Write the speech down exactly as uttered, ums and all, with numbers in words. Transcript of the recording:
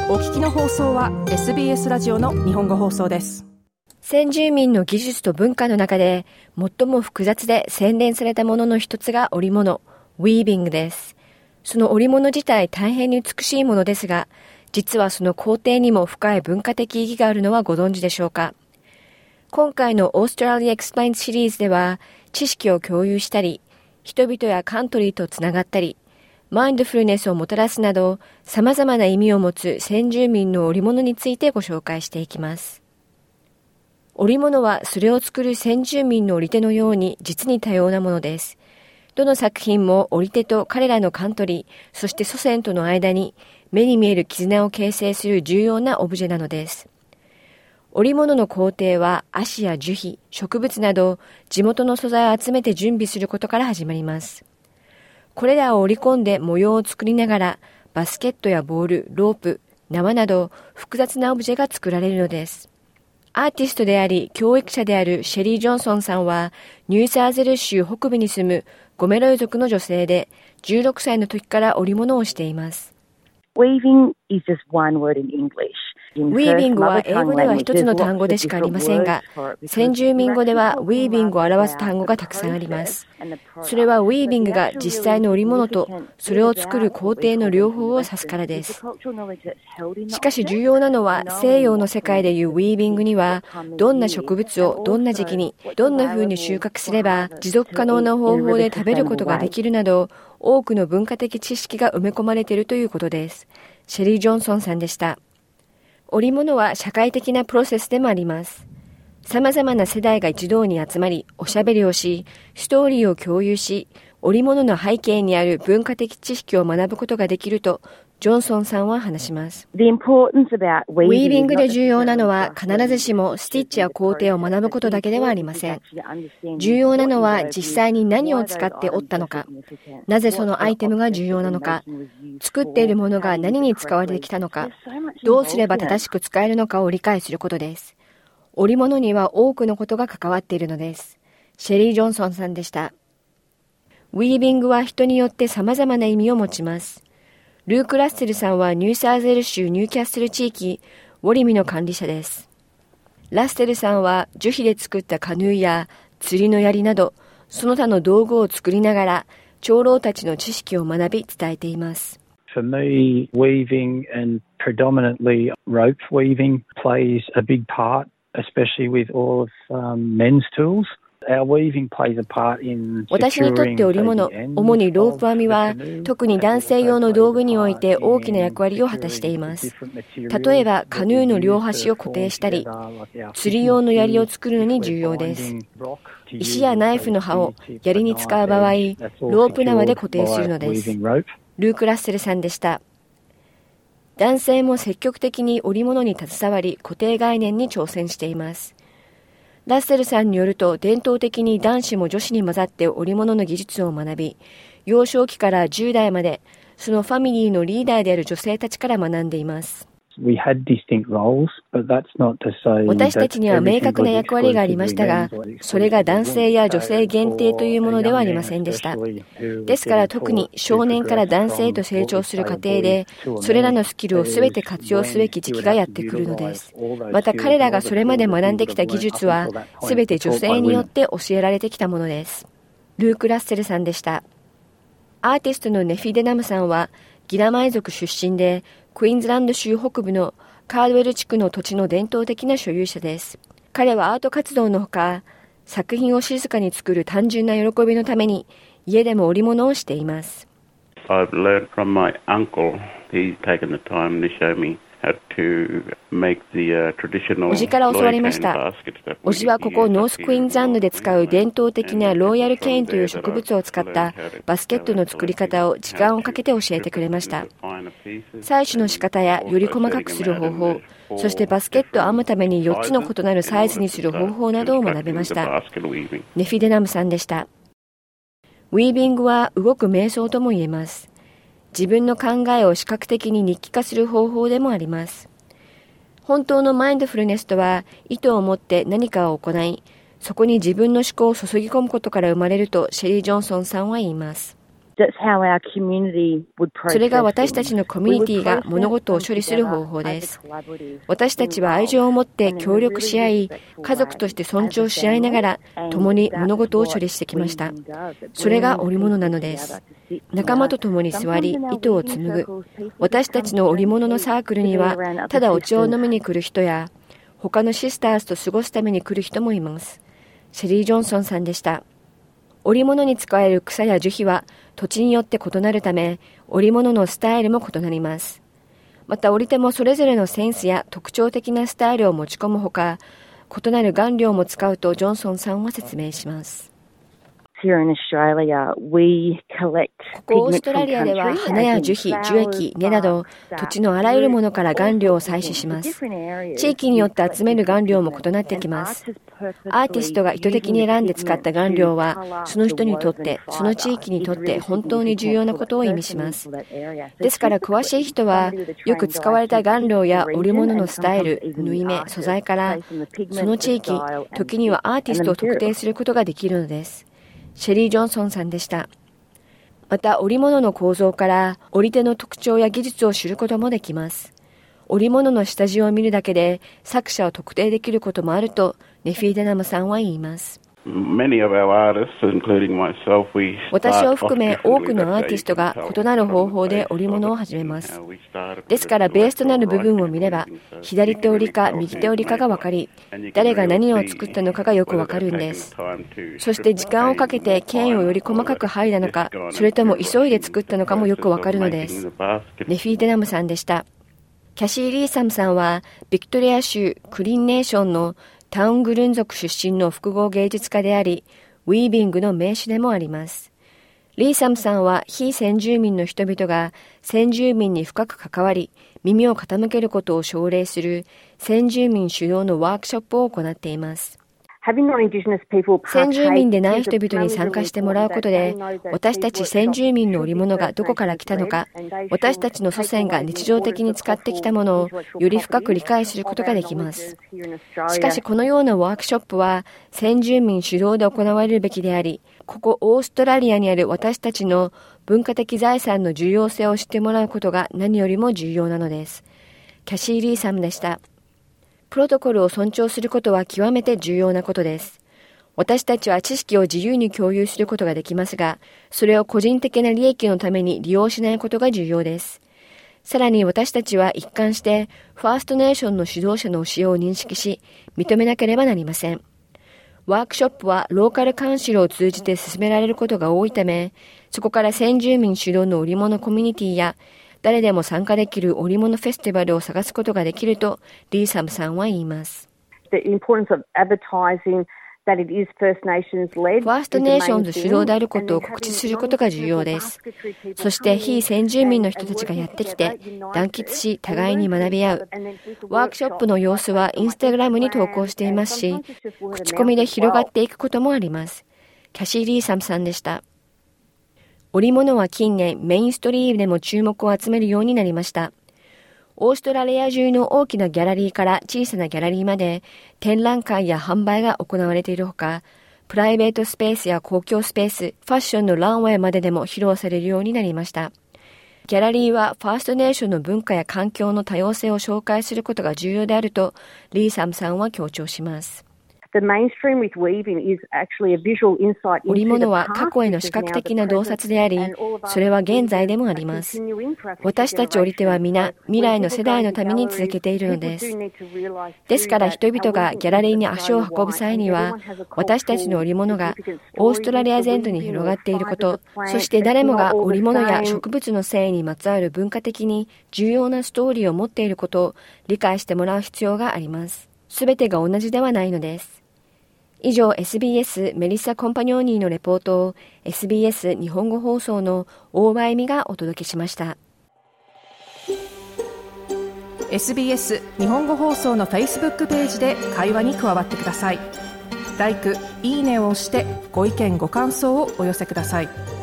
お聞きの放送は エスビーエス ラジオの日本語放送です。 先住民の技術と文化の中で最も複雑で洗練されたものの一つが織物、ウィービングです。その織物自体大変に美しいものですが、実はその工程にも深い文化的意義があるのはご存知でしょうか。今回のオーストラリアエクスプレインシリーズでは、知識を共有したり、人々やカントリーとつながったり、マインドフルネスをもたらすなど、様々な意味を持つ先住民の織物についてご紹介していきます。織物はそれを作る先住民の織手のように実に多様なものです。どの作品も織手と彼らのカントリー、そして祖先との間に目に見える絆を形成する重要なオブジェなのです。織物の工程は葦や樹皮、植物など地元の素材を集めて準備することから始まります。これらを織り込んで模様を作りながらバスケットやボール、ロープ、縄など複雑なオブジェが作られるのです。アーティストであり教育者であるシェリー・ジョンソンさんはニューサーゼル州北部に住むゴメロイ族の女性でじゅうろくさいの時から織物をしています。 Weaving is just one word in English. ウィービングは英語では一つの単語でしかありませんが、先住民語ではウィービングを表す単語がたくさんあります。それはウィービングが実際の織物とそれを作る工程の両方を指すからです。しかし重要なのは西洋の世界でいうウィービングにはどんな植物をどんな時期にどんな風に収穫すれば持続可能な方法で食べることができるなど多くの文化的知識が埋め込まれているということです。シェリー・ジョンソンさんでした。織物は社会的なプロセスでもあります。様々な世代が一堂に集まり、おしゃべりをし、ストーリーを共有し、織物の背景にある文化的知識を学ぶことができると、ジョンソンさんは話します。ウィービングで重要なのは必ずしもスティッチや工程を学ぶことだけではありません。重要なのは実際に何を使って織ったのか、なぜそのアイテムが重要なのか、作っているものが何に使われてきたのか、どうすれば正しく使えるのかを理解することです。織物には多くのことが関わっているのです。シェリー・ジョンソンさんでした。ウィービングは人によって様々な意味を持ちます。ルーク・ラッセルさんはニューサーゼル州ニューキャッスル地域、ウォリミの管理者です。ラッセルさんは樹皮で作ったカヌーや釣りの槍など、その他の道具を作りながら、長老たちの知識を学び伝えています。 For me, weaving and predominantly rope weaving plays a big part, especially with all of um, men's tools. 私にとって織物、主にロープ編みは特に男性用の道具において大きな役割を果たしています。例えばカヌーの両端を固定したり、釣り用の槍を作るのに重要です。石やナイフの刃を槍に使う場合、ロープ縄で固定するのです。ルーク・ラッセルさんでした。男性も積極的に織物に携わり、固定概念に挑戦しています。ラッセルさんによると伝統的に男子も女子に混ざって織物の技術を学び、幼少期からじゅう代までそのファミリーのリーダーである女性たちから学んでいます。私たちには明確な役割がありましたが、それが男性や女性限定というものではありませんでした。ですから特に少年から男性へと成長する過程で、それらのスキルをすべて活用すべき時期がやってくるのです。また彼らがそれまで学んできた技術は、すべて女性によって教えられてきたものです。ルーク・ラッセルさんでした。アーティストのネフィ・デナムさんは、ギラマイ族出身で、クイーンズランド州北部のカードウェル地区の土地の伝統的な所有者です。彼はアート活動のほか、作品を静かに作る単純な喜びのために家でも織物をしています。 I've learned from my uncle. He's taken the time to show me how to make the traditional. おじから教わりました。おじはここノースクイーンズランドで使う伝統的なロイヤルケインという植物を使ったバスケットの作り方を時間をかけて教えてくれました。採取の仕方やより細かくする方法、そしてバスケットを編むためによっつの異なるサイズにする方法などを学びました。ネフィデナムさんでした。ウィービングは動く瞑想とも言えます。自分の考えを視覚的に日記化する方法でもあります。本当のマインドフルネスとは意図を持って何かを行い、そこに自分の思考を注ぎ込むことから生まれるとシェリー・ジョンソンさんは言います。 それが私たちのコミュニティが物事を処理する方法です。私たちは愛情を持って協力し合い、家族として尊重し合いながら共に物事を処理してきました。それが織物なのです。仲間と共に座り、糸を紡ぐ。私たちの織物のサークルには、ただお茶を飲みに来る人や、他のシスターズと過ごすために来る人もいます。シェリー・ジョンソンさんでした。織物に使える草や樹皮は土地によって異なるため、織物のスタイルも異なります。また織手もそれぞれのセンスや特徴的なスタイルを持ち込むほか、異なる顔料も使うとジョンソンさんは説明します。ここオーストラリアでは花や樹皮、樹液、根など土地のあらゆるものから顔料を採取します。地域によって集める顔料も異なってきます。アーティストが意図的に選んで使った顔料はその人にとって、その地域にとって本当に重要なことを意味します。ですから詳しい人はよく使われた顔料や織物のスタイル、縫い目、素材からその地域、時にはアーティストを特定することができるのです。シェリー・ジョンソンさんでした。また織物の構造から織手の特徴や技術を知ることもできます。織物の下地を見るだけで作者を特定できることもあるとネフィー・デナムさんは言います。私を含め多くのアーティストが異なる方法で織物を始めます。ですからベースとなる部分を見れば左手織りか右手織りかが分かり、誰が何を作ったのかがよく分かるんです。そして時間をかけて剣をより細かく剥いだのか、それとも急いで作ったのかもよく分かるのです。ネフィー・デナムさんでした。キャシー・リーサムさんはビクトリア州クリンネーションのタウングルン族出身の複合芸術家であり、ウィービングの名手でもあります。リーサムさんは非先住民の人々が先住民に深く関わり、耳を傾けることを奨励する先住民主導のワークショップを行っています。先住民でない人々に参加してもらうことで、私たち先住民の織物がどこから来たのか、私たちの祖先が日常的に使ってきたものをより深く理解することができます。しかしこのようなワークショップは先住民主導で行われるべきであり、ここオーストラリアにある私たちの文化的財産の重要性を知ってもらうことが何よりも重要なのです。キャシー・リーさんでした。プロトコルを尊重することは極めて重要なことです。私たちは知識を自由に共有することができますが、それを個人的な利益のために利用しないことが重要です。さらに私たちは一貫してファーストネーションの指導者の教えを認識し、認めなければなりません。ワークショップはローカルカウンシルを通じて進められることが多いため、そこから先住民主導の織物コミュニティや誰でも参加できる織物フェスティバルを探すことができるとリーサムさんは言います。ファーストネーションズ主導であることを告知することが重要です。そして非先住民の人たちがやってきて団結し互いに学び合う。ワークショップの様子はインスタグラムに投稿していますし、口コミで広がっていくこともあります。キャシー・リーサムさんでした。織物は近年メインストリームでも注目を集めるようになりました。オーストラリア中の大きなギャラリーから小さなギャラリーまで展覧会や販売が行われているほか、プライベートスペースや公共スペース、ファッションのランウェイまででも披露されるようになりました。ギャラリーはファーストネーションの文化や環境の多様性を紹介することが重要であるとリーサムさんは強調します。織物は過去への視覚的な洞察であり、それは現在でもあります。私たち織手は皆、未来の世代のために続けているのです。ですから人々がギャラリーに足を運ぶ際には、私たちの織物がオーストラリア全土に広がっていること、そして誰もが織物や植物の繊維にまつわる文化的に重要なストーリーを持っていることを理解してもらう必要があります。すべてが同じではないのです。以上 エスビーエス メリッサ・コンパニョーニーのレポートを エスビーエス 日本語放送の大場恵美がお届けしました。 エスビーエス 日本語放送の Facebook ページで会話に加わってください。ライク、いいねを押してご意見ご感想をお寄せください。